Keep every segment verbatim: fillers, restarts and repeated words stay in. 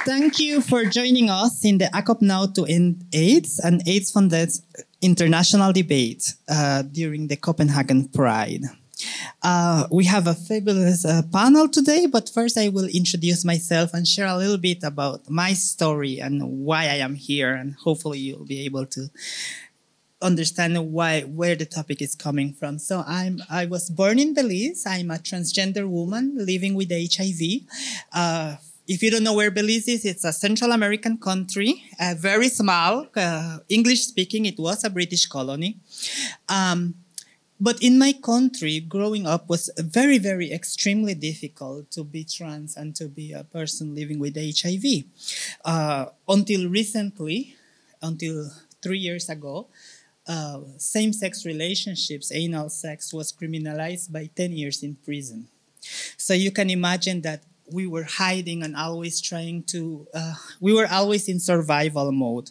Thank you for joining us in the A C O P Now to End AIDS and AIDS Funded International Debate uh, during the Copenhagen Pride. Uh, we have a fabulous uh, panel today, but first I will introduce myself and share a little bit about my story and why I am here, and hopefully you'll be able to understand why where the topic is coming from. So I'm I was born in Belize. I'm a transgender woman living with H I V. Uh, if you don't know where Belize is, it's a Central American country, uh, very small, uh, English speaking. It was a British colony. Um, But in my country, growing up was very, very extremely difficult to be trans and to be a person living with H I V. Uh, until recently, until three years ago, uh, same-sex relationships, anal sex, was criminalized by ten years in prison. So you can imagine that we were hiding and always trying to, uh, we were always in survival mode.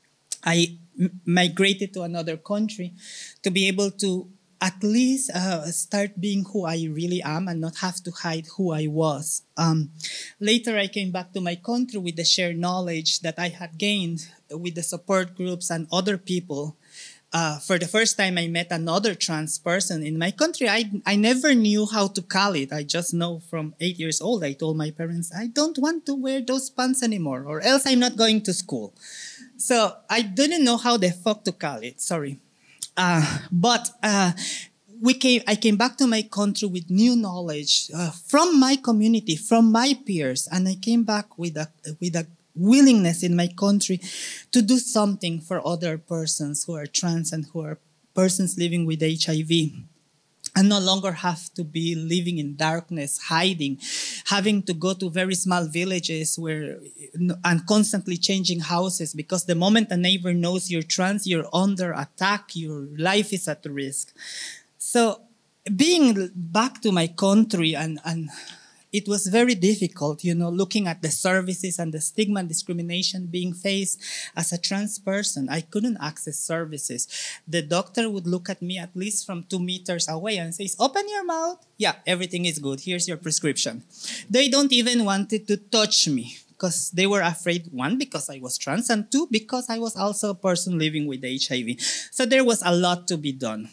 I m- migrated to another country to be able to at least uh, start being who I really am and not have to hide who I was. Um, later, I came back to my country with the shared knowledge that I had gained with the support groups and other people. Uh, for the first time, I met another trans person in my country. I, I never knew how to call it. I just know from eight years old, I told my parents, I don't want to wear those pants anymore, or else I'm not going to school. So I didn't know how the fuck to call it, sorry. Uh, but uh, we came. I came back to my country with new knowledge uh, from my community, from my peers, and I came back with a with a willingness in my country to do something for other persons who are trans and who are persons living with H I V. And no longer have to be living in darkness, hiding, having to go to very small villages where and constantly changing houses, because the moment a neighbor knows you're trans, you're under attack, your life is at risk. So being back to my country, and, and it was very difficult, you know, looking at the services and the stigma and discrimination being faced as a trans person. I couldn't access services. The doctor would look at me at least from two meters away and says, open your mouth. Yeah, everything is good. Here's your prescription. They don't even wanted to touch me because they were afraid, one, because I was trans, and two, because I was also a person living with H I V. So there was a lot to be done.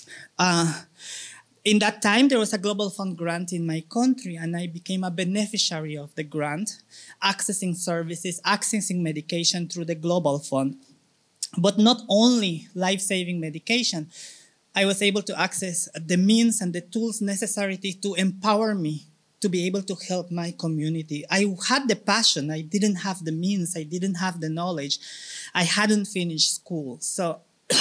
Uh, In that time, there was a Global Fund grant in my country, and I became a beneficiary of the grant, accessing services, accessing medication through the Global Fund. But not only life-saving medication, I was able to access the means and the tools necessary to empower me to be able to help my community. I had the passion. I didn't have the means. I didn't have the knowledge. I hadn't finished school. So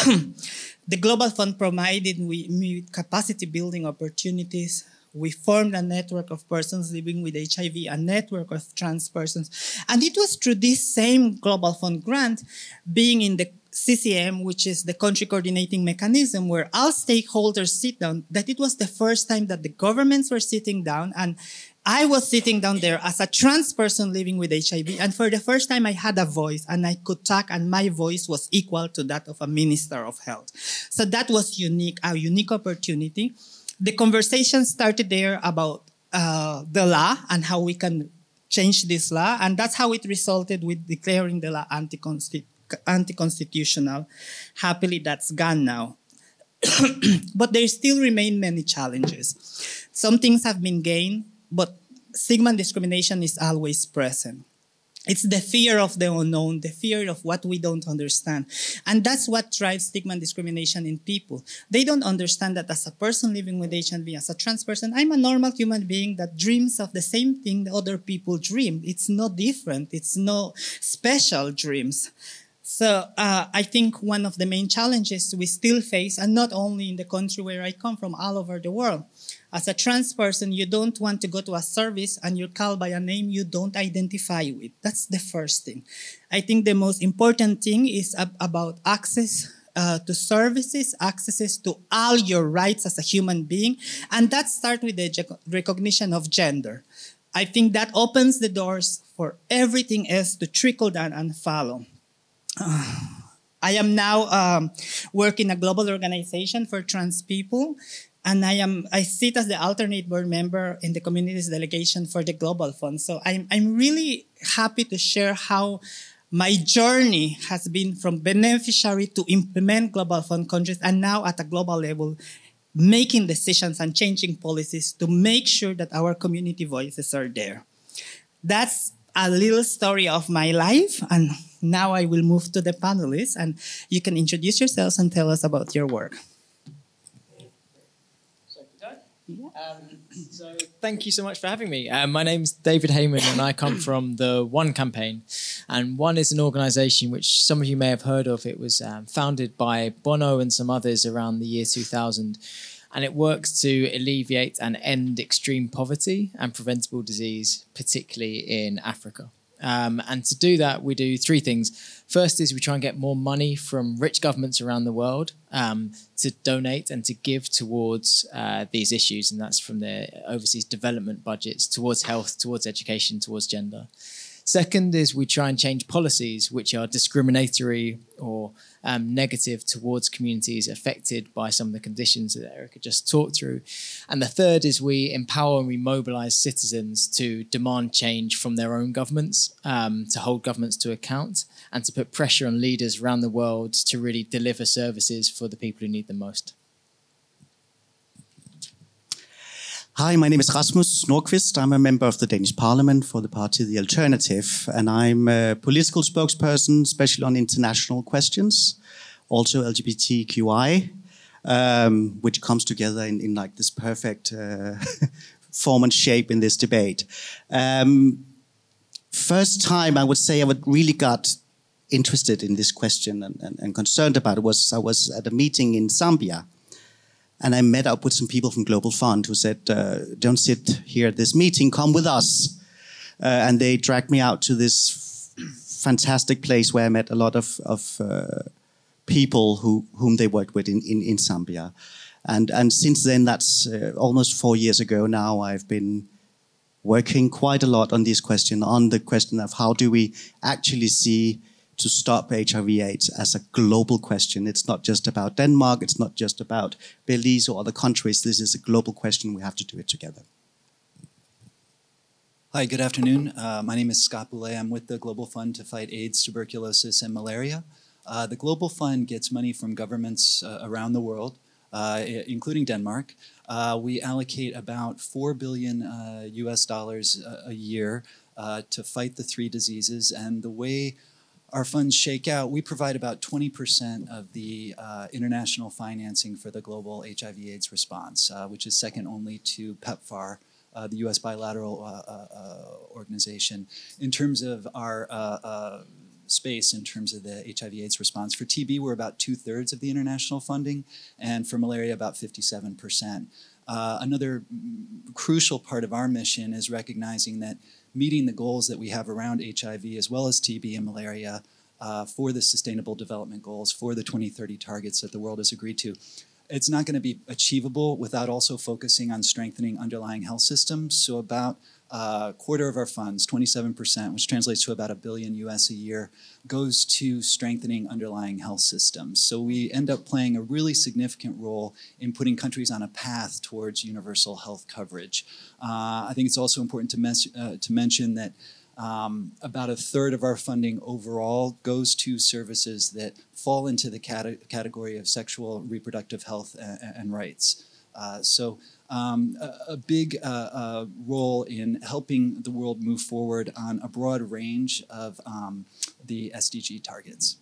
the Global Fund provided me with capacity building opportunities. We formed a network of persons living with H I V, a network of trans persons. And it was through this same Global Fund grant, being in the C C M, which is the country coordinating mechanism, where all stakeholders sit down, that it was the first time that the governments were sitting down, and I was sitting down there as a trans person living with H I V, and for the first time I had a voice, and I could talk, and my voice was equal to that of a minister of health. So that was unique, a unique opportunity. The conversation started there about uh, the law and how we can change this law, and that's how it resulted with declaring the law anti-consti- anti-constitutional. Happily, that's gone now. But there still remain many challenges. Some things have been gained, but stigma and discrimination is always present. It's the fear of the unknown, the fear of what we don't understand. And that's what drives stigma and discrimination in people. They don't understand that as a person living with H I V, as a trans person, I'm a normal human being that dreams of the same thing that other people dream. It's no different. It's no special dreams. So uh, I think one of the main challenges we still face, and not only in the country where I come from, all over the world. As a trans person, you don't want to go to a service and you're called by a name you don't identify with. That's the first thing. I think the most important thing is ab- about access uh, to services, access to all your rights as a human being, and that starts with the ge- recognition of gender. I think that opens the doors for everything else to trickle down and follow. Uh, I am now um, working in a global organization for trans people. and I am I sit as the alternate board member in the communities delegation for the Global Fund. So I'm I'm really happy to share how my journey has been from beneficiary to implement Global Fund countries, and now at a global level, making decisions and changing policies to make sure that our community voices are there. That's a little story of my life, and now I will move to the panelists, and you can introduce yourselves and tell us about your work. Um, so thank you so much for having me. Uh, my name's David Heyman, and I come from the One campaign. And One is an organisation which some of you may have heard of. It was um, founded by Bono and some others around the year two thousand. And it works to alleviate and end extreme poverty and preventable disease, particularly in Africa. Um, and to do that, we do three things. First is we try and get more money from rich governments around the world um, to donate and to give towards uh, these issues. And that's from their overseas development budgets towards health, towards education, towards gender. Second is we try and change policies which are discriminatory or um, negative towards communities affected by some of the conditions that Erica just talked through. And the third is we empower and we mobilize citizens to demand change from their own governments, um, to hold governments to account, and to put pressure on leaders around the world to really deliver services for the people who need them most. Hi, my name is Rasmus Nordqvist. I'm a member of the Danish Parliament for the party The Alternative, and I'm a political spokesperson, especially on international questions, also L G B T Q I, um, which comes together in, in like this perfect uh, form and shape in this debate. Um, first time I would say I would really got interested in this question and, and, and concerned about it was I was at a meeting in Zambia. And I met up with some people from Global Fund who said, uh, don't sit here at this meeting, come with us. Uh, and they dragged me out to this f- fantastic place where I met a lot of, of uh, people who, whom they worked with in, in, in Zambia. And, and since then, that's uh, almost four years ago now, I've been working quite a lot on this question, on the question of how do we actually see to stop H I V AIDS as a global question. It's not just about Denmark, it's not just about Belize or other countries. This is a global question. We have to do it together. Hi, good afternoon. Uh, my name is Scott Boulay. I'm with the Global Fund to fight AIDS, tuberculosis, and malaria. Uh, the Global Fund gets money from governments uh, around the world, uh, including Denmark. Uh, we allocate about four billion uh, U S dollars a, a year uh, to fight the three diseases. And the way our funds shake out, we provide about twenty percent of the uh, international financing for the global H I V AIDS response, uh, which is second only to PEPFAR, uh, the U S bilateral uh, uh, organization. In terms of our uh, uh, space, in terms of the H I V AIDS response, for T B, we're about two-thirds of the international funding, and for malaria, about fifty-seven percent. Uh, another crucial part of our mission is recognizing that meeting the goals that we have around H I V as well as T B and malaria uh, for the Sustainable Development Goals, for the twenty thirty targets that the world has agreed to. It's not going to be achievable without also focusing on strengthening underlying health systems. So about a quarter of our funds, twenty-seven percent, which translates to about a billion U S a year, goes to strengthening underlying health systems. So we end up playing a really significant role in putting countries on a path towards universal health coverage. Uh, I think it's also important to, mes- uh, to mention that um, about a third of our funding overall goes to services that fall into the cate- category of sexual reproductive health and, and rights. Uh, so um, a, a big uh, uh, role in helping the world move forward on a broad range of um, the S D G targets.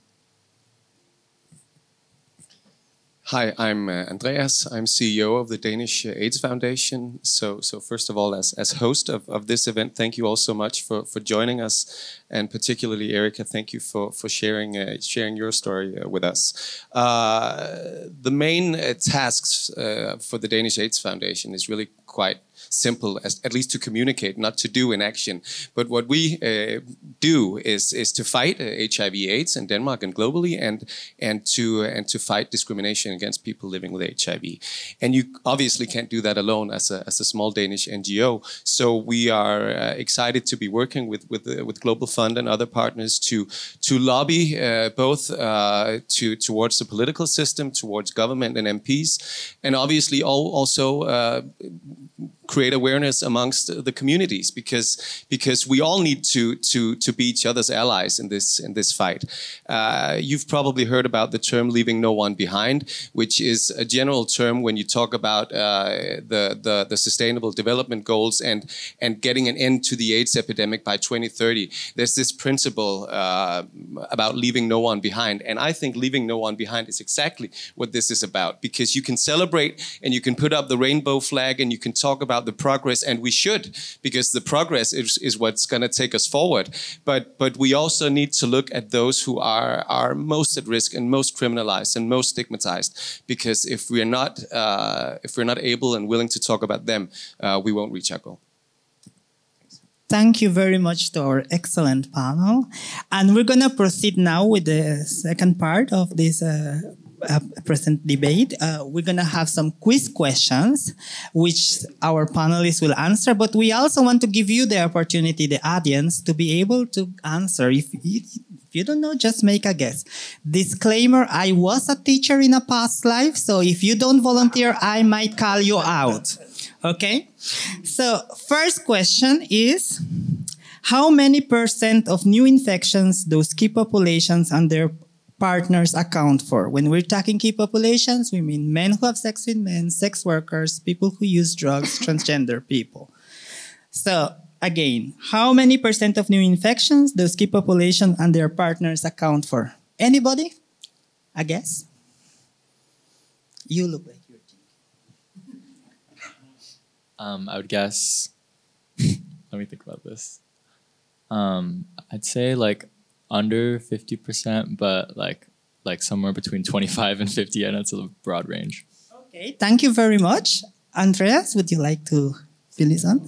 Hi, I'm uh, Andreas. I'm C E O of the Danish uh, AIDS Foundation. So, so first of all, as, as host of, of this event, thank you all so much for, for joining us, and particularly Erica, thank you for for sharing uh, sharing your story uh, with us. Uh, the main uh, tasks uh, for the Danish AIDS Foundation is really quite simple, as at least to communicate, not to do in action. But what we uh, do is is to fight uh, H I V/AIDS in Denmark and globally, and and to uh, and to fight discrimination against people living with H I V. And you obviously can't do that alone as a as a small Danish N G O. So we are uh, excited to be working with with uh, with Global Fund and other partners to to lobby uh, both uh, to towards the political system, towards government and M Ps, and obviously all, also. Uh, create awareness amongst the communities, because because we all need to to to be each other's allies in this in this fight. Uh, you've probably heard about the term "leaving no one behind," which is a general term when you talk about uh, the, the the Sustainable Development Goals and and getting an end to the AIDS epidemic by twenty thirty. There's this principle uh, about leaving no one behind, and I think leaving no one behind is exactly what this is about, because you can celebrate and you can put up the rainbow flag and you can talk about the progress, and we should, because the progress is, is what's going to take us forward. But but we also need to look at those who are are most at risk and most criminalized and most stigmatized, because if we're not uh, if we're not able and willing to talk about them, uh, we won't reach our goal. Thank you very much to our excellent panel, and we're going to proceed now with the second part of this Uh, Uh, present debate. Uh, we're going to have some quiz questions, which our panelists will answer, but we also want to give you the opportunity, the audience, to be able to answer. If you, if you don't know, just make a guess. Disclaimer, I was a teacher in a past life, so if you don't volunteer, I might call you out. Okay? So, first question is, how many percent of new infections those key populations and their partners account for? When we're talking key populations, we mean men who have sex with men, sex workers, people who use drugs, transgender people. So again, how many percent of new infections those key populations and their partners account for? Anybody? I guess. You look like you're thinking. Um, I would guess. Let me think about this. Um, I'd say like under fifty percent, but like like somewhere between twenty-five and fifty. I know it's a broad range. Okay, thank you very much. Andreas, would you like to fill this on?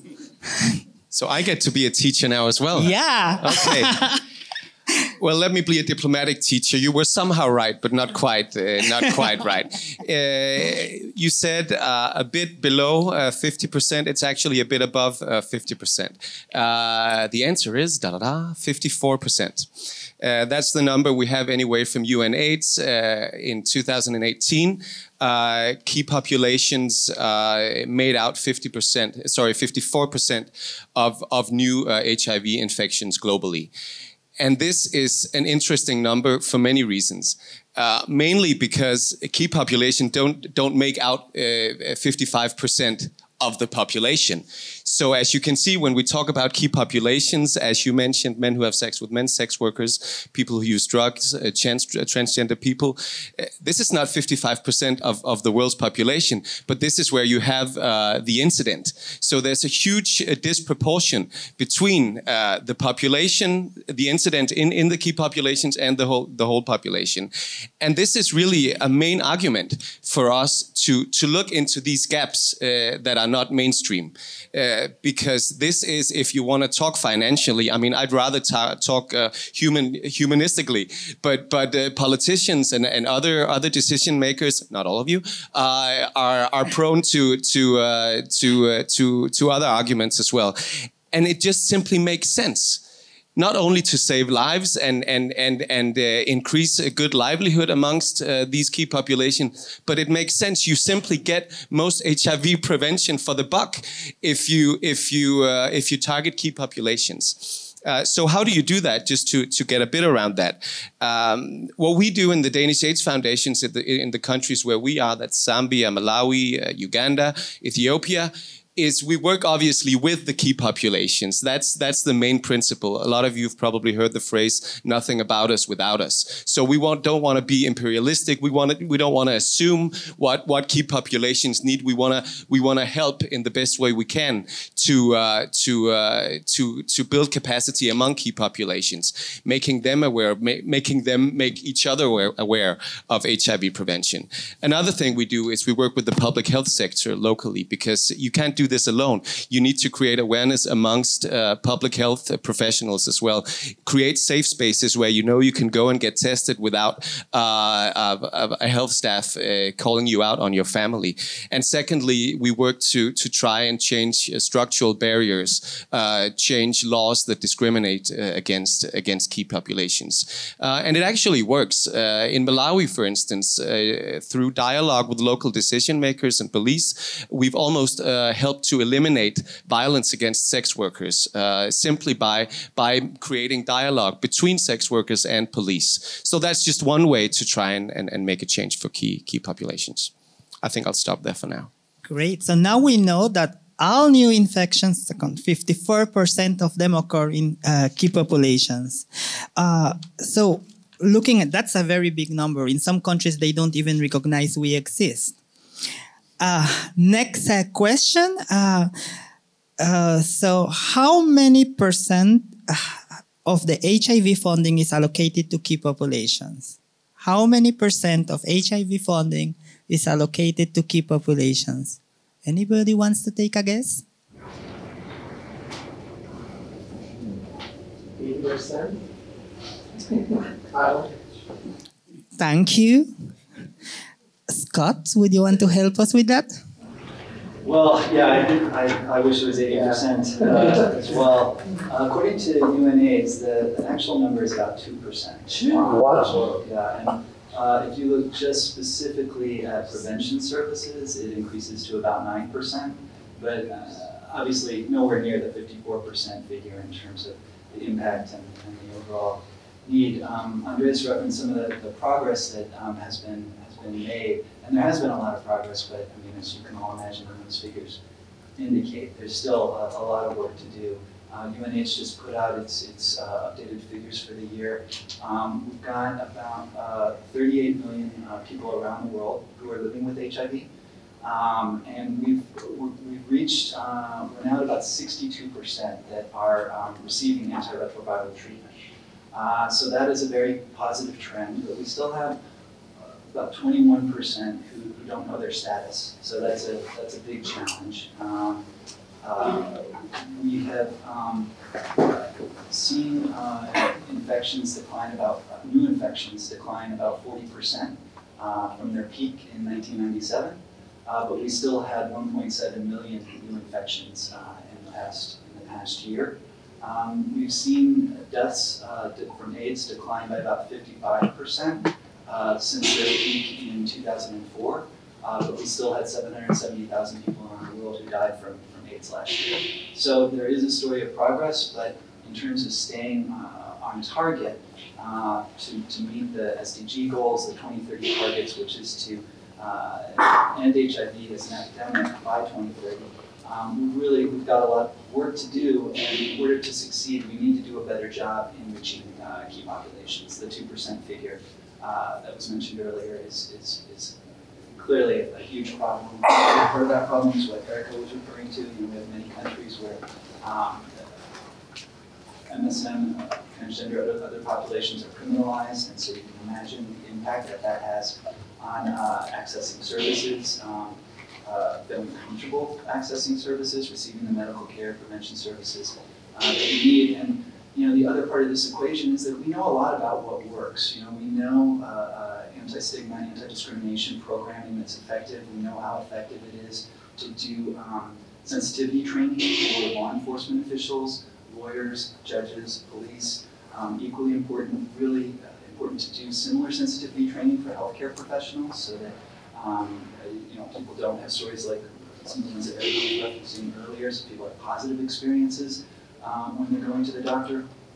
So I get to be a teacher now as well. Yeah. Okay. Well, let me be a diplomatic teacher. You were somehow right, but not quite, uh, not quite right. Uh, you said uh, a bit below uh, fifty percent. It's actually a bit above uh, fifty percent. Uh, the answer is da da da fifty-four percent. Uh, that's the number we have anyway from UNAIDS uh, in two thousand eighteen. Uh, key populations uh, made out fifty percent, sorry, fifty-four percent of of new uh, H I V infections globally. And this is an interesting number for many reasons. Uh, mainly because a key population don't don't make out uh, fifty-five percent of the population. So as you can see, when we talk about key populations, as you mentioned, men who have sex with men, sex workers, people who use drugs, uh, trans transgender people, uh, this is not fifty-five percent of, of the world's population, but this is where you have uh, the incident. So there's a huge uh, disproportion between uh, the population, the incident in, in the key populations and the whole, the whole population. And this is really a main argument for us to, to look into these gaps uh, that are not mainstream. Uh, because this is, if you want to talk financially, I mean, I'd rather ta talk uh, human humanistically, but but uh, politicians and, and other other decision makers, not all of you, uh, are are prone to to uh, to uh, to to other arguments as well, and it just simply makes sense. Not only to save lives and and and and uh, increase a good livelihood amongst uh, these key population, but it makes sense. You simply get most H I V prevention for the buck if you if you uh, if you target key populations. Uh, so how do you do that? Just to to get a bit around that. Um, what we do in the Danish AIDS Foundations in the, in the countries where we are, that's Zambia, Malawi, uh, Uganda, Ethiopia, is we work obviously with the key populations. That's that's the main principle. A lot of you have probably heard the phrase "nothing about us without us." So we want, don't want to be imperialistic. We want to, we don't want to assume what what key populations need. We want to we want to help in the best way we can to uh, to uh, to to build capacity among key populations, making them aware, ma- making them make each other aware, aware of H I V prevention. Another thing we do is we work with the public health sector locally, because you can't do this alone. You need to create awareness amongst uh, public health professionals as well. Create safe spaces where you know you can go and get tested without uh, a, a health staff uh, calling you out on your family. And secondly, we work to to try and change uh, structural barriers, uh, change laws that discriminate uh, against against key populations. Uh, and it actually works. Uh, in Malawi, for instance, uh, through dialogue with local decision makers and police, we've almost uh, helped to eliminate violence against sex workers uh, simply by by creating dialogue between sex workers and police. So that's just one way to try and, and, and make a change for key key populations. I think I'll stop there for now. Great. So now we know that all new infections, fifty-four percent of them occur in uh, key populations. Uh, so looking at, that's a very big number. In some countries, they don't even recognize we exist. Uh, next uh, question. Uh, uh, so how many percent of the H I V funding is allocated to key populations? How many percent of H I V funding is allocated to key populations? Anybody wants to take a guess? eighty percent? Thank you. Scott, would you want to help us with that? Well, yeah, I, did, I, I wish it was eighty percent uh, as well. Uh, according to U N AIDS, the, the actual number is about two percent. Wow. Yeah, and uh, if you look just specifically at prevention services, it increases to about nine percent. But uh, obviously nowhere near the fifty-four percent figure in terms of the impact and, and the overall need. Um, Andreas referenced some of the, the progress that um, has been has been made, and there has been a lot of progress. But I mean, as you can all imagine, when those figures indicate, there's still a, a lot of work to do. Uh, U N H just put out its its uh, updated figures for the year. Um, we've got about uh, thirty-eight million uh, people around the world who are living with H I V, um, and we've we've reached uh, we're now at about sixty-two percent that are um, receiving antiretroviral treatment. Uh, so that is a very positive trend, but we still have about twenty-one percent who, who don't know their status. So that's a that's a big challenge. Um, uh, we have um, seen uh, infections decline about uh, new infections decline about forty percent uh, from their peak in nineteen ninety-seven, uh, but we still had one point seven million new infections uh, in the past in the past year. Um, we've seen deaths uh, from AIDS decline by about fifty-five percent uh, since their peak in two thousand four, uh, but we still had seven hundred seventy thousand people around the world who died from, from AIDS last year. So there is a story of progress, but in terms of staying uh, on target uh, to, to meet the S D G goals, the twenty thirty targets, which is to uh, end H I V as an epidemic by twenty thirty. Um, we really, we've got a lot of work to do, and in order to succeed, we need to do a better job in reaching uh, key populations. The two percent figure uh, that was mentioned earlier is, is, is clearly a, a huge problem. Part of that problem is what Erica was referring to. You know, we have many countries where um, M S M, uh, transgender, other, other populations are criminalized, and so you can imagine the impact that that has on uh, accessing services. Um, Uh, feeling comfortable accessing services, receiving the medical care, prevention services uh, that we need. And you know, the other part of this equation is that we know a lot about what works. You know, we know uh, uh, anti-stigma, anti-discrimination programming that's effective. We know how effective it is to do um, sensitivity training for law enforcement officials, lawyers, judges, police. Um, equally important, really uh, important to do similar sensitivity training for healthcare professionals, so that Um, you know, people don't have stories like some of the ones that Eric was referencing earlier, so people have positive experiences um, when they're going to the doctor.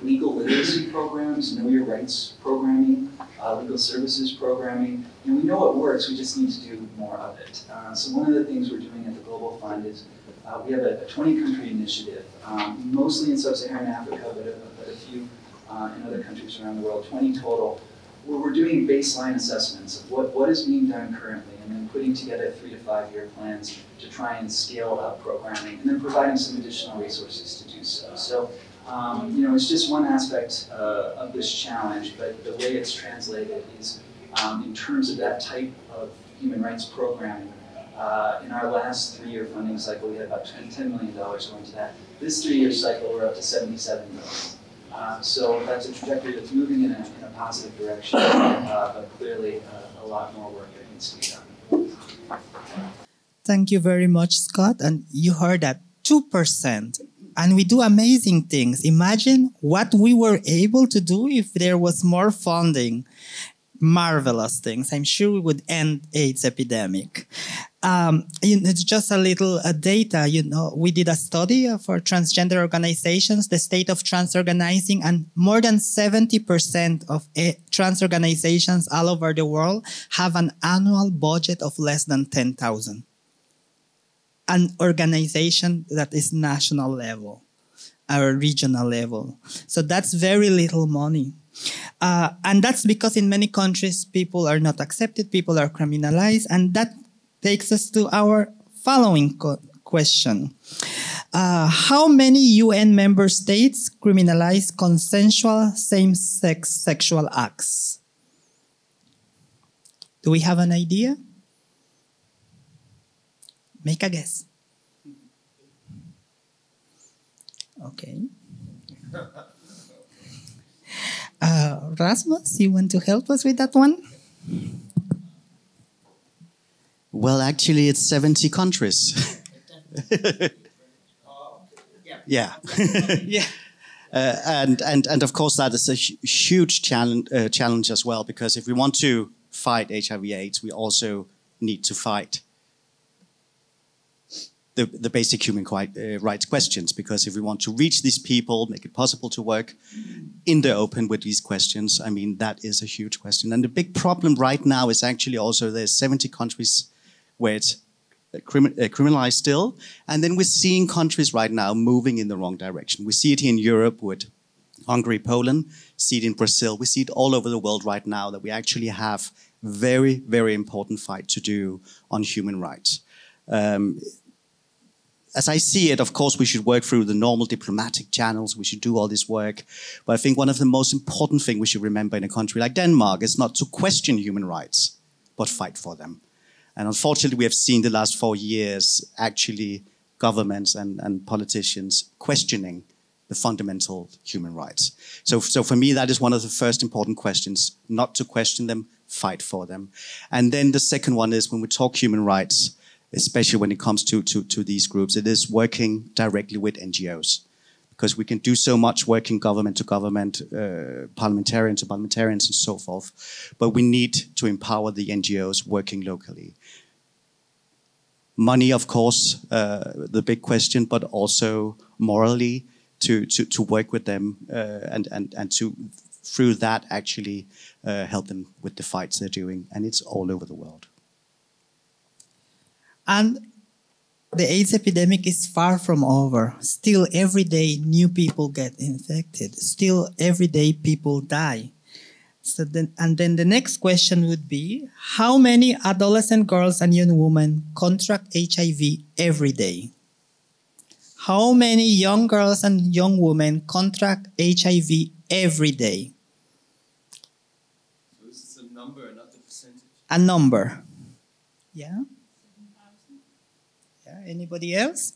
legal literacy programs, know your rights programming, uh, legal services programming. And we know it works, we just need to do more of it. Uh, so one of the things we're doing at the Global Fund is uh, we have a twenty country initiative, um, mostly in sub-Saharan Africa, but a, but a few uh, in other countries around the world, twenty total, where we're doing baseline assessments of what, what is being done currently, and then putting together three to five year plans to try and scale up programming, and then providing some additional resources to do so. So, um, you know, it's just one aspect uh, of this challenge, but the way it's translated is um, in terms of that type of human rights programming. Uh, in our last three-year funding cycle, we had about ten million dollars going to that. This three-year cycle, we're up to seventy-seven million dollars. Uh, so that's a trajectory that's moving in a, in a positive direction, uh, but clearly uh, a lot more work that needs to be done. Thank you very much, Scott. And you heard that two percent. And we do amazing things. Imagine what we were able to do if there was more funding. Marvelous things. I'm sure we would end AIDS epidemic. Um, you know, it's just a little uh, data. You know, we did a study uh, for transgender organizations, the state of trans organizing, and more than seventy percent of uh, trans organizations all over the world have an annual budget of less than ten thousand. An organization that is national level or regional level. So that's very little money. Uh, and that's because in many countries, people are not accepted, people are criminalized, and that takes us to our following co- question. Uh, how many U N member states criminalize consensual same-sex sexual acts? Do we have an idea? Make a guess. Okay. Uh, Rasmus, you want to help us with that one? Well, actually, it's seventy countries. Yeah. Yeah. Uh, and, and, and of course, that is a hu- huge challenge, uh, challenge as well, because if we want to fight H I V AIDS, we also need to fight the, the basic human quite, uh, rights questions, because if we want to reach these people, make it possible to work in the open with these questions, I mean, that is a huge question. And the big problem right now is actually also there's seventy countries where it's Crimin- uh, criminalized still, and then we're seeing countries right now moving in the wrong direction. We see it here in Europe with Hungary, Poland, see it in Brazil, we see it all over the world right now that we actually have very, very important fight to do on human rights. Um, as I see it, of course, we should work through the normal diplomatic channels, we should do all this work, but I think one of the most important things we should remember in a country like Denmark is not to question human rights, but fight for them. And unfortunately, we have seen the last four years, actually, governments and, and politicians questioning the fundamental human rights. So, so for me, that is one of the first important questions, not to question them, fight for them. And then the second one is when we talk human rights, especially when it comes to, to, to these groups, it is working directly with N G Os. Because we can do so much working government to government, uh, parliamentarian to parliamentarians and so forth. But we need to empower the N G Os working locally. Money, of course, uh, the big question, but also morally to, to, to work with them uh, and, and, and to, through that, actually uh, help them with the fights they're doing. And it's all over the world. And the AIDS epidemic is far from over. Still, every day, new people get infected. Still, every day, people die. So then, and then the next question would be, how many adolescent girls and young women contract H I V every day? How many young girls and young women contract H I V every day? So this is a number, not the percentage. A number. Yeah? Yeah, anybody else?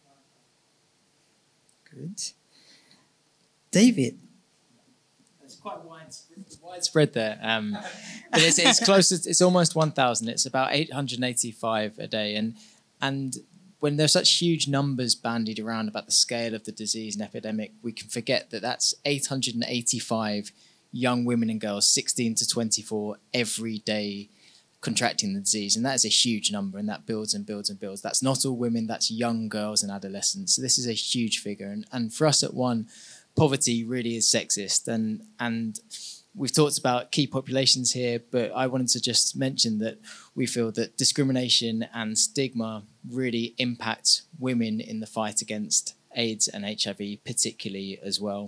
Good. David. It's quite widespread, widespread there. Um, but it's, it's close. To, it's almost one thousand. It's about eight hundred eighty-five a day. And and when there's such huge numbers bandied around about the scale of the disease and epidemic, we can forget that that's eight hundred eighty-five young women and girls, sixteen to twenty-four, every day contracting the disease. And that is a huge number, and that builds and builds and builds. That's not all women, that's young girls and adolescents. So this is a huge figure. And, and for us at One, poverty really is sexist, and and we've talked about key populations here, but I wanted to just mention that we feel that discrimination and stigma really impact women in the fight against AIDS and H I V particularly as well.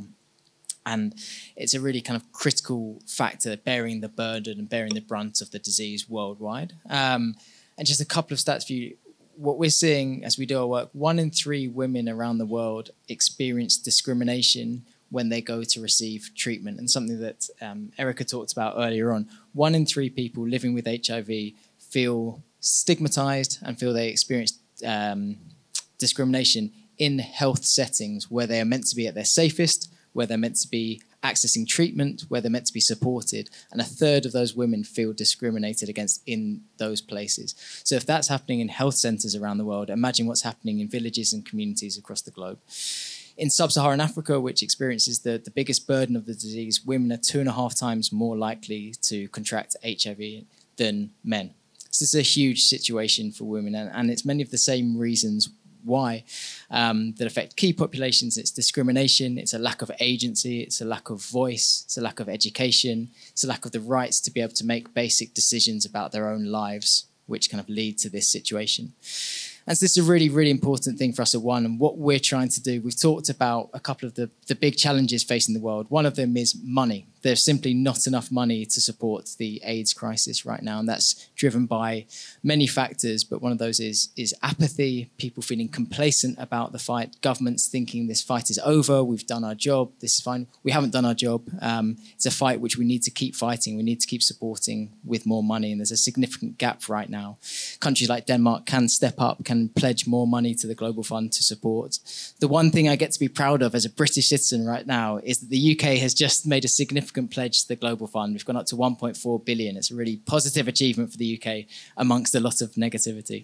And it's a really kind of critical factor, bearing the burden and bearing the brunt of the disease worldwide. Um, and just a couple of stats for you. What we're seeing as we do our work, one in three women around the world experience discrimination when they go to receive treatment. And something that um, Erica talked about earlier on, one in three people living with H I V feel stigmatized and feel they experience um, discrimination in health settings where they are meant to be at their safest, where they're meant to be accessing treatment, where they're meant to be supported. And a third of those women feel discriminated against in those places. So if that's happening in health centres around the world, imagine what's happening in villages and communities across the globe. In sub-Saharan Africa, which experiences the, the biggest burden of the disease, women are two and a half times more likely to contract H I V than men. So this is a huge situation for women, and, and it's many of the same reasons why um, that affect key populations. It's discrimination, it's a lack of agency, it's a lack of voice, it's a lack of education, it's a lack of the rights to be able to make basic decisions about their own lives, which kind of lead to this situation. And so this is a really, really important thing for us at One. And what we're trying to do, we've talked about a couple of the, the big challenges facing the world. One of them is money. There's simply not enough money to support the AIDS crisis right now. And that's driven by many factors. But one of those is, is apathy, people feeling complacent about the fight, governments thinking this fight is over, we've done our job, this is fine. We haven't done our job. Um, it's a fight which we need to keep fighting. We need to keep supporting with more money. And there's a significant gap right now. Countries like Denmark can step up, can pledge more money to the Global Fund to support. The one thing I get to be proud of as a British citizen right now is that the U K has just made a significant pledge to the Global Fund. We've gone up to one point four billion. It's a really positive achievement for the U K amongst a lot of negativity.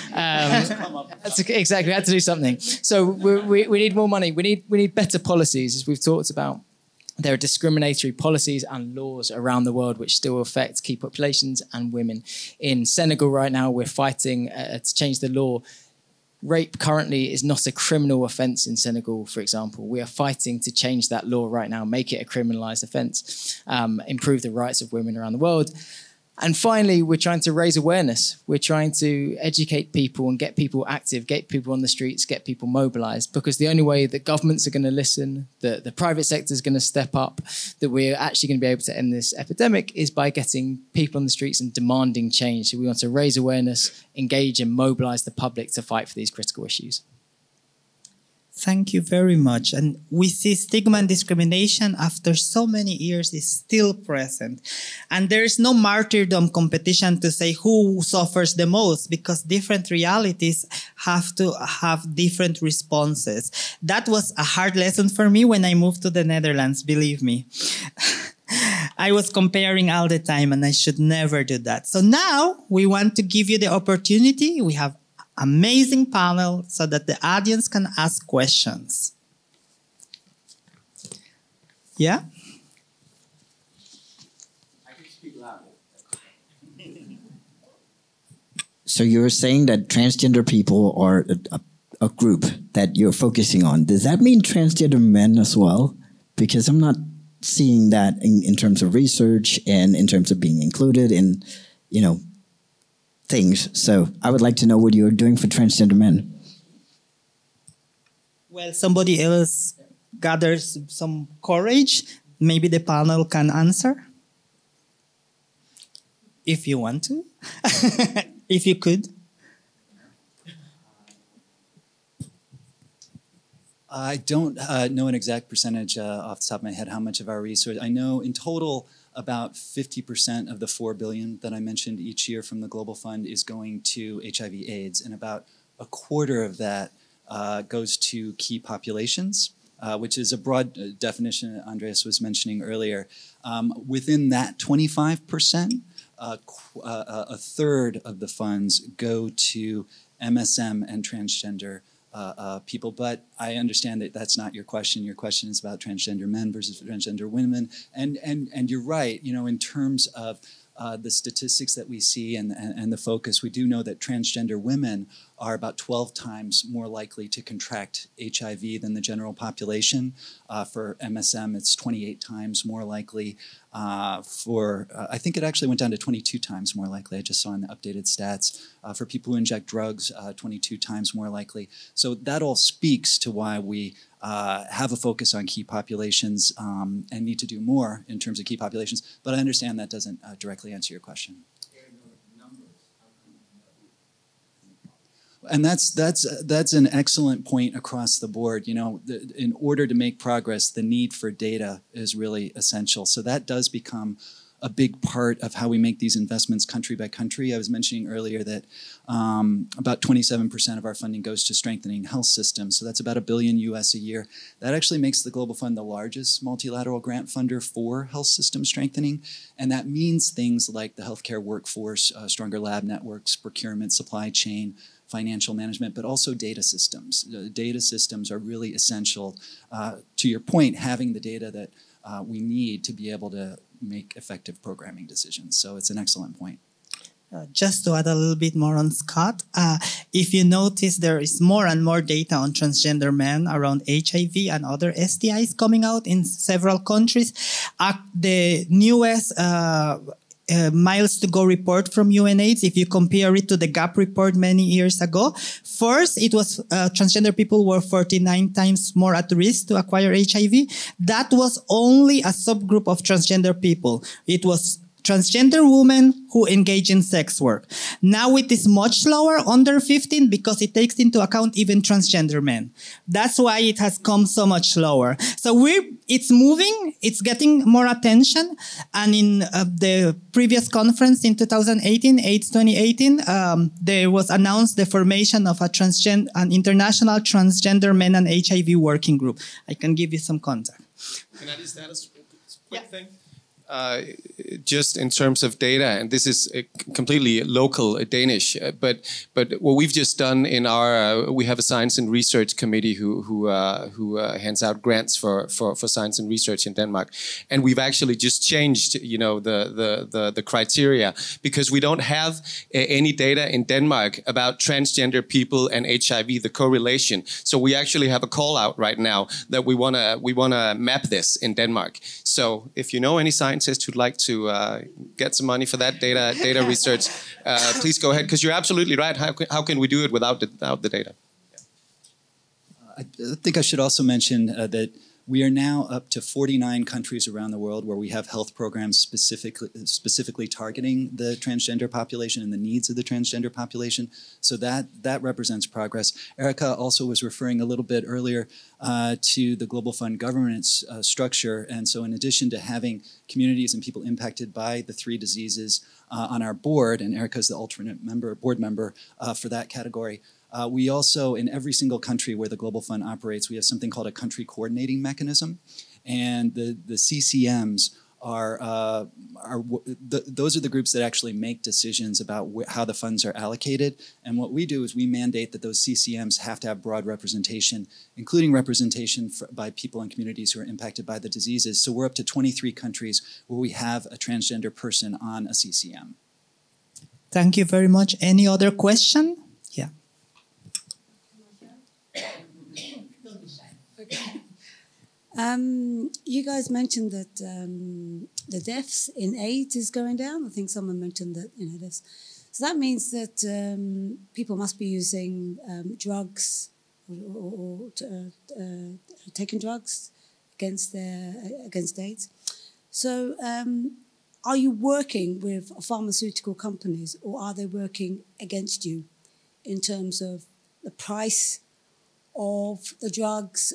Um, that's exactly, we had to do something. So we, we, we need more money. We need, we need better policies, as we've talked about. There are discriminatory policies and laws around the world which still affect key populations and women. In Senegal right now, we're fighting uh, to change the law. Rape currently is not a criminal offence in Senegal, for example. We are fighting to change that law right now, make it a criminalised offence, um, improve the rights of women around the world. And finally, we're trying to raise awareness. We're trying to educate people and get people active, get people on the streets, get people mobilised, because the only way that governments are going to listen, that the private sector is going to step up, that we're actually going to be able to end this epidemic is by getting people on the streets and demanding change. So we want to raise awareness, engage and mobilise the public to fight for these critical issues. Thank you very much. And we see stigma and discrimination after so many years is still present. And there is no martyrdom competition to say who suffers the most, because different realities have to have different responses. That was a hard lesson for me when I moved to the Netherlands, believe me. I was comparing all the time, and I should never do that. So now we want to give you the opportunity. We have amazing panel so that the audience can ask questions. Yeah? I can speak louder. So you're saying that transgender people are a, a, a group that you're focusing on. Does that mean transgender men as well? Because I'm not seeing that in, in terms of research and in terms of being included in, you know, things. So I would like to know what you're doing for transgender men. Well, somebody else gathers some courage. Maybe the panel can answer. If you want to. If you could. I don't uh, know an exact percentage uh, off the top of my head how much of our research. I know in total about fifty percent of the four billion dollars that I mentioned each year from the Global Fund is going to H I V AIDS, and about a quarter of that uh, goes to key populations, uh, which is a broad definition that Andreas was mentioning earlier. Um, within that twenty-five percent, uh, qu- uh, a third of the funds go to M S M and transgender Uh, uh, people, but I understand that that's not your question. Your question is about transgender men versus transgender women, and and and you're right. You know, in terms of uh, the statistics that we see and, and and the focus, we do know that transgender women are about twelve times more likely to contract H I V than the general population. Uh, for M S M, it's twenty-eight times more likely. Uh, for, uh, I think it actually went down to twenty-two times more likely. I just saw in the updated stats. Uh, for people who inject drugs, uh, twenty-two times more likely. So that all speaks to why we uh, have a focus on key populations um, and need to do more in terms of key populations. But I understand that doesn't uh, directly answer your question. And that's that's that's an excellent point across the board. You know, the, in order to make progress, the need for data is really essential. So that does become a big part of how we make these investments country by country. I was mentioning earlier that um, about twenty-seven percent of our funding goes to strengthening health systems. So that's about a billion U S a year. That actually makes the Global Fund the largest multilateral grant funder for health system strengthening. And that means things like the healthcare workforce, uh, stronger lab networks, procurement, supply chain, financial management, but also data systems. The data systems are really essential. Uh, to your point, having the data that uh, we need to be able to make effective programming decisions. So it's an excellent point. Uh, just to add a little bit more on Scott, uh, if you notice there is more and more data on transgender men around H I V and other S T Is coming out in several countries. Uh, the newest uh, uh, miles to go report from UNAIDS, if you compare it to the GAP report many years ago, first it was uh, transgender people were forty-nine times more at risk to acquire H I V. That was only a subgroup of transgender people. It was transgender women who engage in sex work. Now it is much lower, under fifteen, because it takes into account even transgender men. That's why it has come so much lower. So we're, it's moving, it's getting more attention. And in uh, the previous conference in two thousand eighteen, AIDS twenty eighteen, um, there was announced the formation of a transgen- an international transgender men and H I V working group. I can give you some contact. Can I just add a quick yeah. thing? Uh, just in terms of data, and this is uh, completely local uh, Danish, uh, but but what we've just done in our uh, we have a science and research committee who who uh, who uh, hands out grants for, for for science and research in Denmark, and we've actually just changed you know the the the, the criteria, because we don't have uh, any data in Denmark about transgender people and H I V, the correlation. So we actually have a call out right now that we wanna we wanna map this in Denmark. So if you know any science who'd like to uh, get some money for that data data research, uh, please go ahead, because you're absolutely right. How can, how can we do it without the, without the data? I think I should also mention uh, that we are now up to forty-nine countries around the world where we have health programs specifically specifically targeting the transgender population and the needs of the transgender population. So that that represents progress. Erica also was referring a little bit earlier uh, to the Global Fund governance uh, structure. And so in addition to having communities and people impacted by the three diseases uh, on our board, and Erica is the alternate member, board member uh, for that category, Uh, we also, in every single country where the Global Fund operates, we have something called a country coordinating mechanism. And the, the C C Ms are, uh, are the, those are the groups that actually make decisions about wh- how the funds are allocated. And what we do is we mandate that those C C Ms have to have broad representation, including representation for, by people and communities who are impacted by the diseases. So we're up to twenty-three countries where we have a transgender person on a C C M. Thank you very much. Any other question? Yeah. Um, you guys mentioned that um, the deaths in AIDS is going down. I think someone mentioned that, you know, this. So that means that um, people must be using um, drugs or, or, or uh, uh, taking drugs against their against AIDS. So, um, are you working with pharmaceutical companies, or are they working against you in terms of the price of the drugs?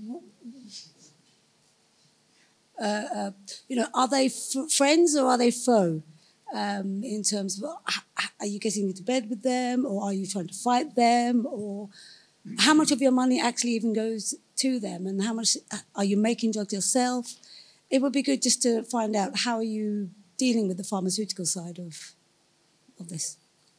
Uh, uh, you know, are they f- friends or are they foe? Um, in terms of, are you getting into bed with them, or are you trying to fight them, or how much of your money actually even goes to them, and how much are you making drugs yourself? It would be good just to find out, how are you dealing with the pharmaceutical side of of this?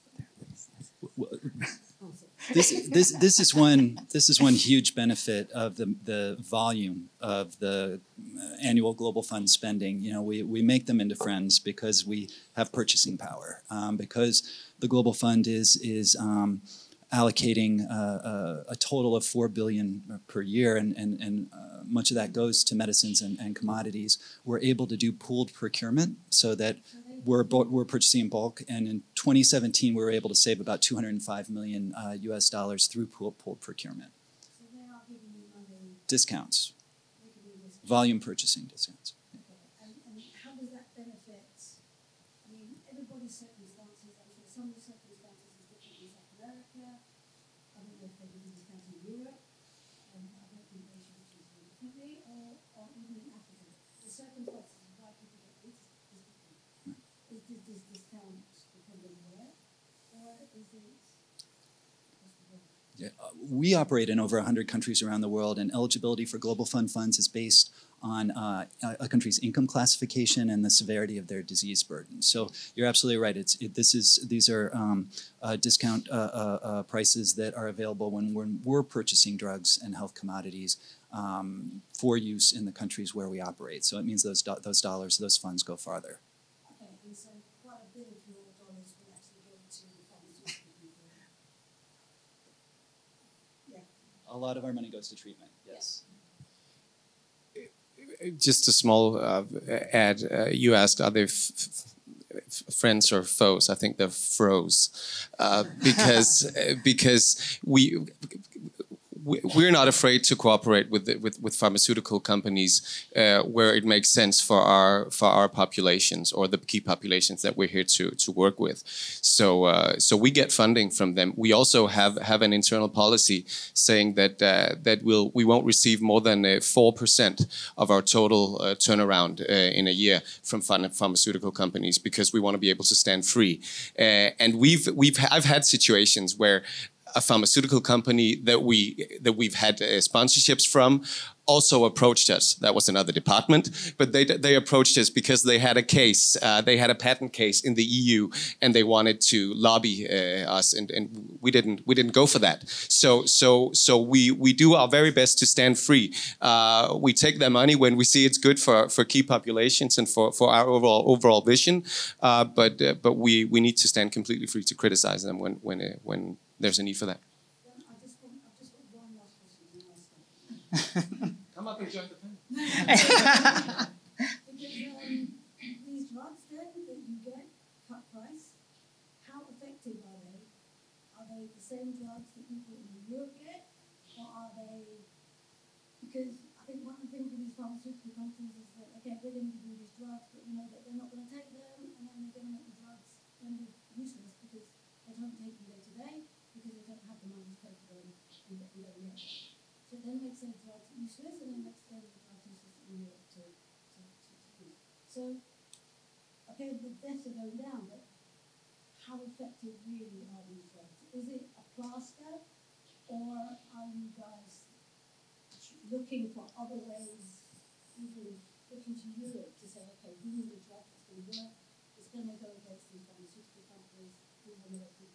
This, this, this is one this is one huge benefit of the, the volume of the annual Global Fund spending. You know, we, we make them into friends because we have purchasing power. Um, because the Global Fund is is um, allocating uh, uh, a total of four billion dollars per year, and, and, and uh, much of that goes to medicines and, and commodities. We're able to do pooled procurement so that we're, we're purchasing in bulk, and in twenty seventeen we were able to save about two hundred five million uh, U S dollars through pooled, pooled procurement. So they are giving you money. Discounts, They give you discounts. volume purchasing discounts. Okay. And, and how does that benefit? I mean, everybody's circumstances. I'm sure some of the circumstances is different in South America. I don't know if they give you discounts in Europe. Um, I don't think they should choose them differently, or, or even in Africa. The circumstances of why people get this is different. Is this, this discount dependent where, or is it? Yeah, uh, we operate in over one hundred countries around the world, and eligibility for Global Fund funds is based on uh, a country's income classification and the severity of their disease burden. So you're absolutely right. It's it, this is these are um, uh, discount uh, uh, uh, prices that are available when we're, we're purchasing drugs and health commodities um, for use in the countries where we operate. So it means those do those dollars, those funds go farther. Okay, and so quite a bit of your dollars will actually go to the pharmaceutical people. Yeah. A lot of our money goes to treatment. Yes. Just a small uh, add. Uh, you asked, are they f f friends or foes? I think they're froze, uh, because because we. We're not afraid to cooperate with the, with, with pharmaceutical companies uh, where it makes sense for our for our populations or the key populations that we're here to to work with. So uh, so we get funding from them. We also have have an internal policy saying that uh, that we'll we won't receive more than four uh, percent of our total uh, turnaround uh, in a year from pharmaceutical companies, because we want to be able to stand free. Uh, and we've we've I've had situations where a pharmaceutical company that we that we've had uh, sponsorships from also approached us. That was another department, but they they approached us because they had a case, uh, they had a patent case in the E U, and they wanted to lobby uh, us, and, and we didn't we didn't go for that. So so so we we do our very best to stand free. Uh, we take their money when we see it's good for for key populations and for for our overall overall vision. Uh, but uh, but we we need to stand completely free to criticize them when when uh, when there's a need for that. I just want, I've just got one last question to ask. Come up and join the panel. Because um, these drugs then that you get, cut price, how effective are they? Are they the same drugs that people in Europe get, or are they? Because I think one of the things with these pharmaceutical companies is that, okay, we're going to give you these drugs, but we know that they're not going to take them, and then they're going to make the drugs render useless because they don't take them day to day, because they don't have the money to pay for them in the, in the Europe. So it then makes their drugs useless, and then makes their drugs useless in Europe to, to, to, to use. So, okay, the deaths are going down, but how effective really are these drugs? Is it a plaster, or are you guys looking for other ways, even looking to Europe to say, okay, we need a drug that's going to work, it's going to go against these pharmaceutical companies, we want to let people.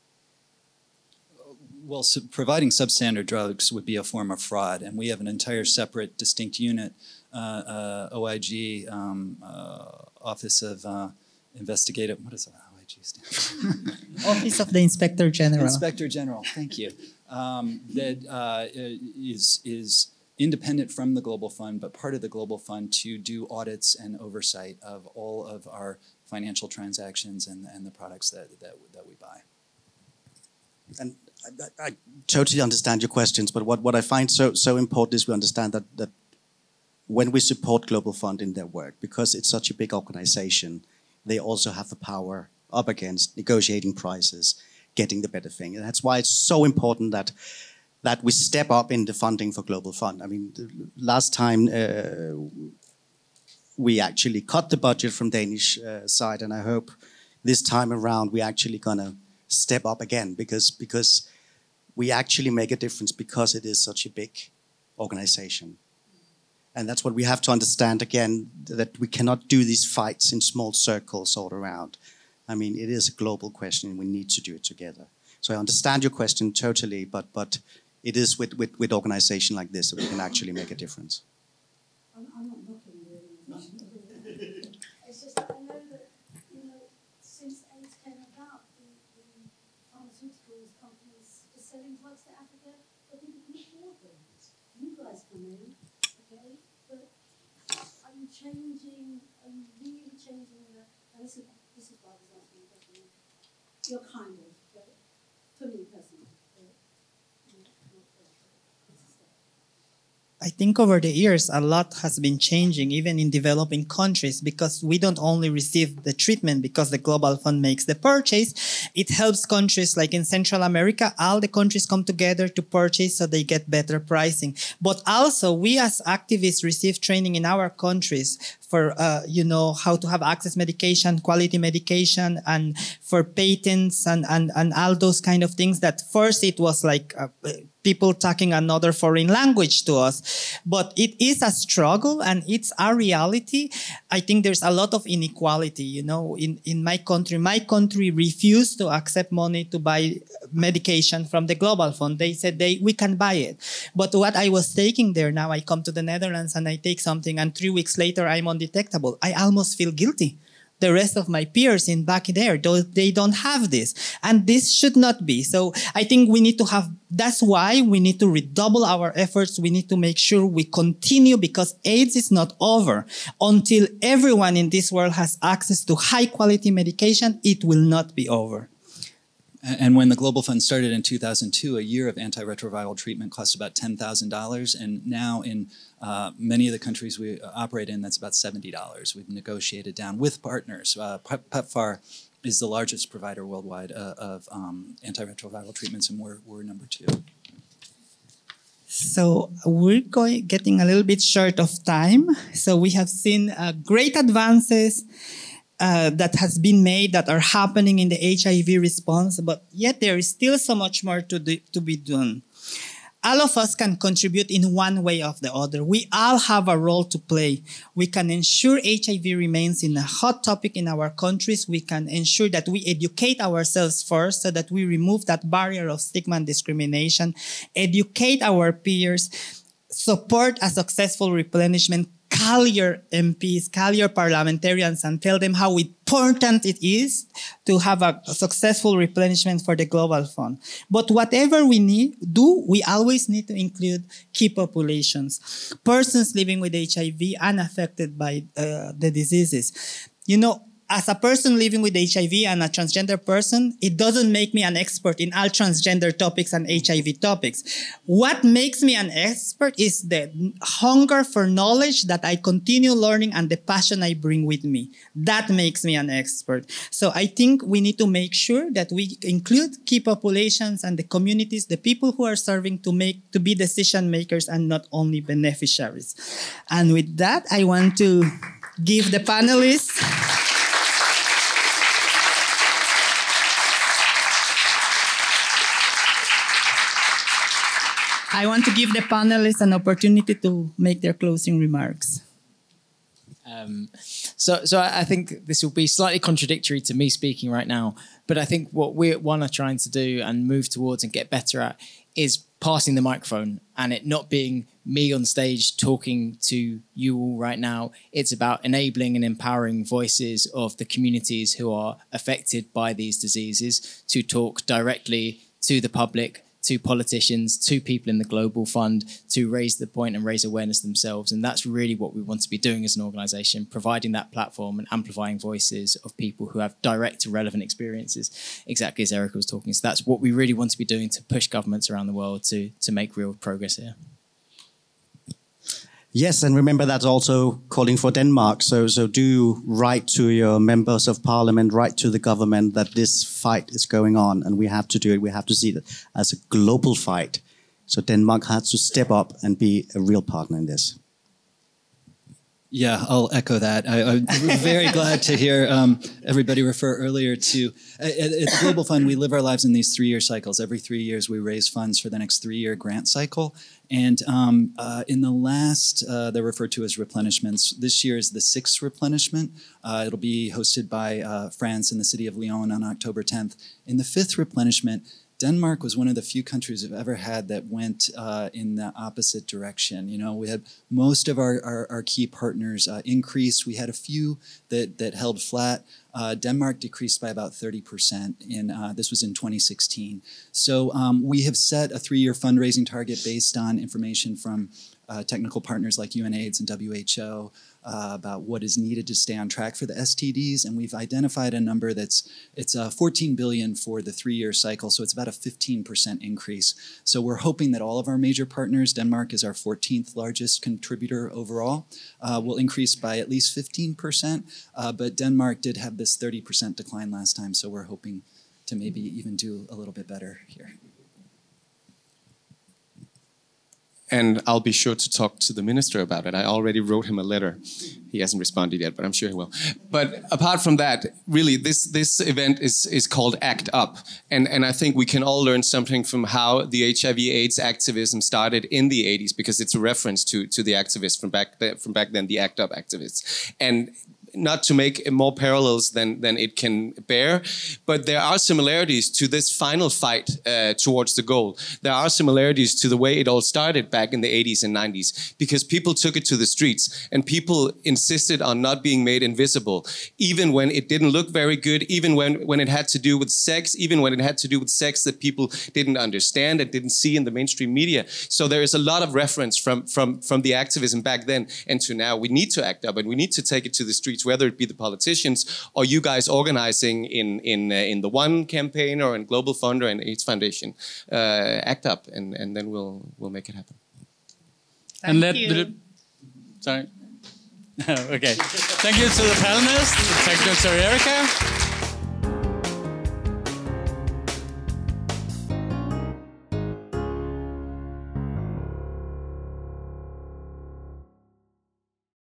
Well, so providing substandard drugs would be a form of fraud, and we have an entire separate, distinct unit, uh, uh, O I G, um, uh, Office of uh, Investigative. What does O I G stand for? Office of the Inspector General. Inspector General. Thank you. Um, that uh, is is independent from the Global Fund, but part of the Global Fund to do audits and oversight of all of our financial transactions and and the products that that that we buy. And I, I totally understand your questions, but what, what I find so so important is we understand that, that when we support Global Fund in their work, because it's such a big organization, they also have the power up against negotiating prices, getting the better thing. And that's why it's so important that that we step up in the funding for Global Fund. I mean, the last time uh, we actually cut the budget from Danish uh, side, and I hope this time around we're actually gonna step up again, because because we actually make a difference because it is such a big organization. And that's what we have to understand again, that we cannot do these fights in small circles all around. I mean, it is a global question and we need to do it together. So I understand your question totally, but but it is with, with, with organization like this that we can actually make a difference. I'm, I'm not looking really. It's just that I know that, you know, since AIDS came about, the, the pharmaceuticals companies drugs to Africa, but people can afford them. You guys come in, okay, but are you changing, are you really changing the, and this is, this is why I was asking the question, you're kind of, but for me personally, I think over the years, a lot has been changing, even in developing countries, because we don't only receive the treatment because the Global Fund makes the purchase. It helps countries like in Central America, all the countries come together to purchase so they get better pricing. But also, we as activists receive training in our countries for, uh, you know, how to have access medication, quality medication, and for patents and, and, and all those kind of things that first it was like uh, people talking another foreign language to us. But it is a struggle and it's a reality. I think there's a lot of inequality, you know, in, in my country. My country refused to accept money to buy medication from the Global Fund. They said they we can buy it. But what I was taking there, now I come to the Netherlands and I take something and three weeks later I'm undetectable. I almost feel guilty. The rest of my peers in back there, they don't have this. And this should not be. So I think we need to have, that's why we need to redouble our efforts. We need to make sure we continue because AIDS is not over. Until everyone in this world has access to high quality medication, it will not be over. And when the Global Fund started in two thousand two, a year of antiretroviral treatment cost about ten thousand dollars. And now in uh, many of the countries we operate in, that's about seventy dollars. We've negotiated down with partners. Uh, PEPFAR is the largest provider worldwide uh, of um, antiretroviral treatments, and we're, we're number two. So we're going, getting a little bit short of time. So we have seen uh, great advances Uh, that has been made, that are happening in the H I V response, but yet there is still so much more to, do, to be done. All of us can contribute in one way or the other. We all have a role to play. We can ensure H I V remains in a hot topic in our countries. We can ensure that we educate ourselves first so that we remove that barrier of stigma and discrimination, educate our peers, support a successful replenishment, call your M Ps, call your parliamentarians and tell them how important it is to have a, a successful replenishment for the Global Fund. But whatever we need do, we always need to include key populations, persons living with H I V and affected by uh, the diseases. You know, as a person living with H I V and a transgender person, it doesn't make me an expert in all transgender topics and H I V topics. What makes me an expert is the hunger for knowledge that I continue learning and the passion I bring with me. That makes me an expert. So I think we need to make sure that we include key populations and the communities, the people who are serving to make, to be decision makers and not only beneficiaries. And with that, I want to give the panelists I want to give the panelists an opportunity to make their closing remarks. Um, so, so I think this will be slightly contradictory to me speaking right now, but I think what we at One are trying to do and move towards and get better at is passing the microphone and it not being me on stage talking to you all right now. It's about enabling and empowering voices of the communities who are affected by these diseases to talk directly to the public, to politicians, to people in the Global Fund, to raise the point and raise awareness themselves. And that's really what we want to be doing as an organisation, providing that platform and amplifying voices of people who have direct relevant experiences, exactly as Erica was talking. So that's what we really want to be doing to push governments around the world to, to make real progress here. Yes, and remember that's also calling for Denmark. So, so do write to your members of parliament, write to the government that this fight is going on and we have to do it. We have to see it as a global fight. So Denmark has to step up and be a real partner in this. Yeah, I'll echo that. I, I'm very glad to hear um, everybody refer earlier to, at, at the Global Fund, we live our lives in these three-year cycles. Every three years we raise funds for the next three-year grant cycle. And um, uh, in the last, uh, they're referred to as replenishments. This year is the sixth replenishment. Uh, it'll be hosted by uh, France in the city of Lyon on October tenth. In the fifth replenishment, Denmark was one of the few countries I've ever had that went uh, in the opposite direction. You know, we had most of our, our, our key partners uh, increased. We had a few that, that held flat. Uh, Denmark decreased by about thirty percent. In uh, this was in twenty sixteen. So um, we have set a three-year fundraising target based on information from uh, technical partners like UNAIDS and W H O uh, about what is needed to stay on track for the S T Ds, and we've identified a number that's it's uh, fourteen billion for the three-year cycle. So it's about a fifteen percent increase. So we're hoping that all of our major partners, Denmark is our fourteenth largest contributor overall, uh, will increase by at least fifteen percent. Uh, but Denmark did have this thirty percent decline last time, so we're hoping to maybe even do a little bit better here. And I'll be sure to talk to the minister about it. I already wrote him a letter. He hasn't responded yet, but I'm sure he will. But apart from that, really, this this event is is called ACT UP. And, and I think we can all learn something from how the H I V AIDS activism started in the eighties, because it's a reference to, to the activists from back, the, from back then, the ACT UP activists. And not to make more parallels than, than it can bear, but there are similarities to this final fight uh, towards the goal. There are similarities to the way it all started back in the eighties and nineties, because people took it to the streets and people insisted on not being made invisible, even when it didn't look very good, even when, when it had to do with sex, even when it had to do with sex that people didn't understand and didn't see in the mainstream media. So there is a lot of reference from, from, from the activism back then and to now. We need to act up and we need to take it to the streets, whether it be the politicians or you guys organizing in in uh, in the One campaign or in Global Fund or in AIDS Foundation. Uh, act up, and and then we'll we'll make it happen. Thank and let you. The, sorry. Okay. Thank you to the panelists. Thank you to Erica.